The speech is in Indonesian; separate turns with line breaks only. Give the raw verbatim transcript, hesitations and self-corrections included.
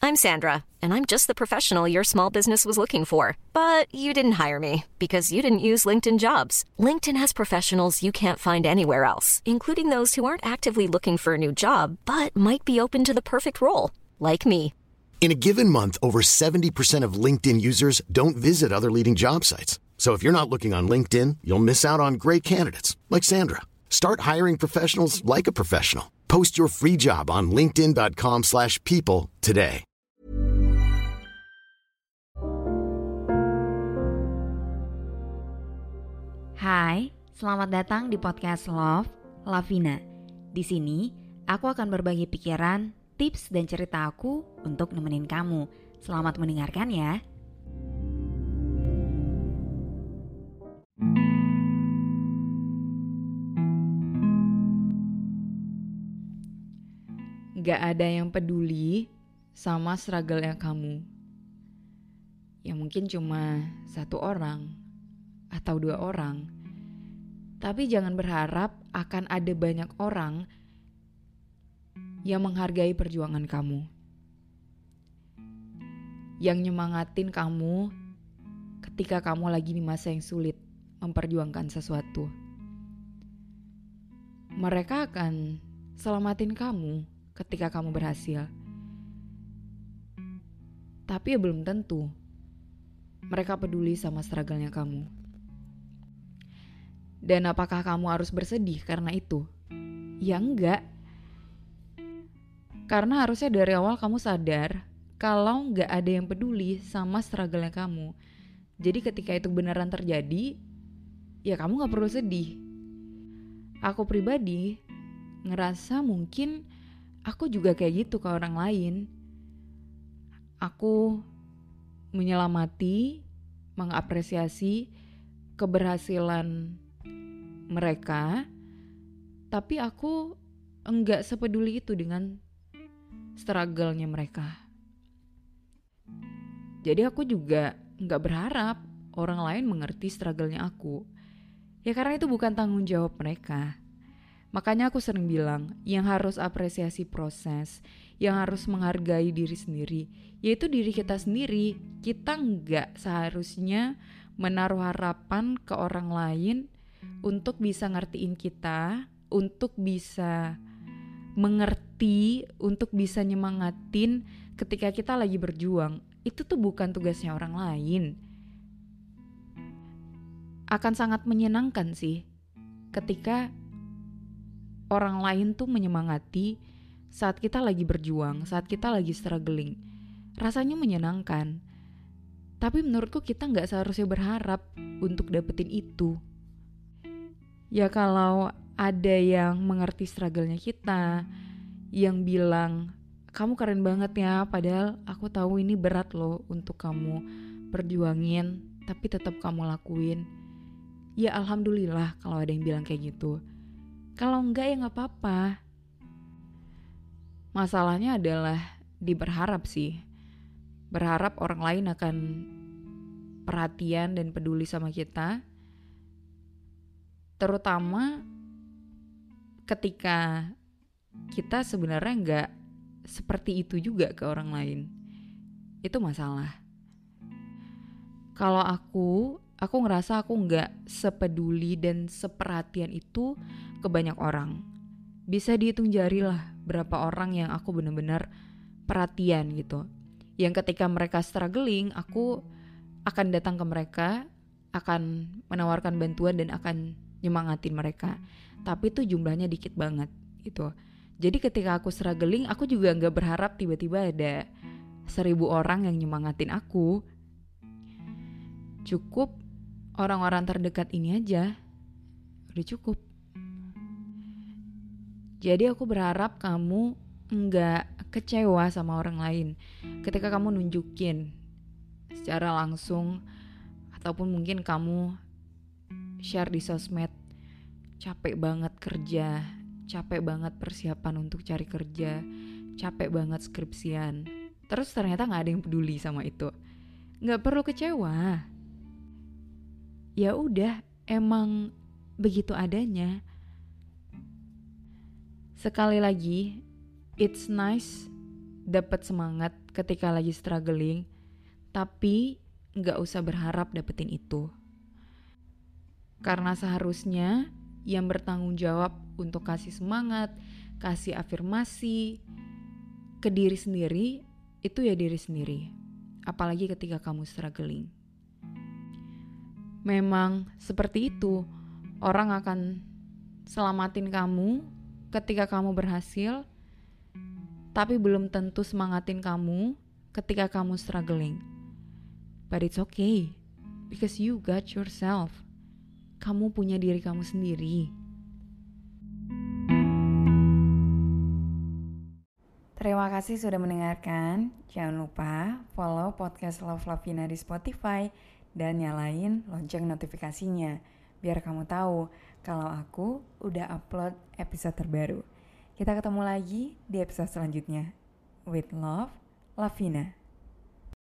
I'm Sandra, and I'm just the professional your small business was looking for. But you didn't hire me because you didn't use LinkedIn Jobs. LinkedIn has professionals you can't find anywhere else, including those who aren't actively looking for a new job, but might be open to the perfect role, like me.
In a given month, over seventy percent of LinkedIn users don't visit other leading job sites. So if you're not looking on LinkedIn, you'll miss out on great candidates like Sandra. Start hiring professionals like a professional. Post your free job on linkedin.com slash people today.
Hai, selamat datang di podcast Love, Lavina. Di sini, aku akan berbagi pikiran, tips, dan cerita aku untuk nemenin kamu. Selamat mendengarkan ya.
Gak ada yang peduli sama struggle-nya kamu. Ya mungkin cuma satu orang atau dua orang. Tapi jangan berharap akan ada banyak orang yang menghargai perjuangan kamu. Yang nyemangatin kamu ketika kamu lagi di masa yang sulit memperjuangkan sesuatu. Mereka akan selamatin kamu ketika kamu berhasil. Tapi ya belum tentu mereka peduli sama struggle-nya kamu. Dan apakah kamu harus bersedih karena itu? Ya enggak. Karena harusnya dari awal kamu sadar kalau enggak ada yang peduli sama struggle-nya kamu. Jadi ketika itu beneran terjadi, ya kamu gak perlu sedih. Aku pribadi ngerasa mungkin aku juga kayak gitu ke orang lain. Aku menyelamati, mengapresiasi keberhasilan mereka, tapi aku enggak sepeduli itu dengan struggle-nya mereka. Jadi aku juga enggak berharap orang lain mengerti struggle-nya aku. Ya karena itu bukan tanggung jawab mereka. Makanya aku sering bilang, yang harus apresiasi proses, yang harus menghargai diri sendiri, yaitu diri kita sendiri. Kita nggak seharusnya menaruh harapan ke orang lain untuk bisa ngertiin kita, untuk bisa mengerti, untuk bisa nyemangatin ketika kita lagi berjuang. Itu tuh bukan tugasnya orang lain. Akan sangat menyenangkan sih ketika orang lain tuh menyemangati saat kita lagi berjuang, saat kita lagi struggling. Rasanya menyenangkan. Tapi menurutku kita gak seharusnya berharap untuk dapetin itu. Ya kalau ada yang mengerti struggle-nya kita, yang bilang, kamu keren banget ya, padahal aku tahu ini berat loh untuk kamu perjuangin, tapi tetap kamu lakuin. Ya alhamdulillah kalau ada yang bilang kayak gitu. Kalau enggak ya gak apa-apa. Masalahnya adalah diberharap sih. Berharap orang lain akan perhatian dan peduli sama kita. Terutama ketika kita sebenarnya gak seperti itu juga ke orang lain. Itu masalah. Kalau aku, aku ngerasa aku gak sepeduli dan seperhatian itu ke banyak orang. Bisa dihitung jari lah berapa orang yang aku benar-benar perhatian gitu. Yang ketika mereka struggling, aku akan datang ke mereka, akan menawarkan bantuan dan akan nyemangatin mereka. Tapi itu jumlahnya dikit banget gitu. Jadi ketika aku struggling, aku juga gak berharap tiba-tiba ada seribu orang yang nyemangatin aku. Cukup orang-orang terdekat ini aja. Udah cukup. Jadi aku berharap kamu enggak kecewa sama orang lain ketika kamu nunjukin secara langsung ataupun mungkin kamu share di sosmed capek banget kerja, capek banget persiapan untuk cari kerja, capek banget skripsian. Terus ternyata gak ada yang peduli sama itu. Gak perlu kecewa. Ya udah, emang begitu adanya. Sekali lagi, it's nice dapat semangat ketika lagi struggling, tapi nggak usah berharap dapetin itu. Karena seharusnya yang bertanggung jawab untuk kasih semangat, kasih afirmasi ke diri sendiri, itu ya diri sendiri. Apalagi ketika kamu struggling. Memang seperti itu, orang akan selamatin kamu ketika kamu berhasil, tapi belum tentu semangatin kamu ketika kamu struggling. But it's okay, because you got yourself. Kamu punya diri kamu sendiri.
Terima kasih sudah mendengarkan. Jangan lupa follow podcast Love Lavina di Spotify dan nyalain lonceng notifikasinya biar kamu tahu kalau aku udah upload episode terbaru. Kita ketemu lagi di episode selanjutnya. With love, Lavina.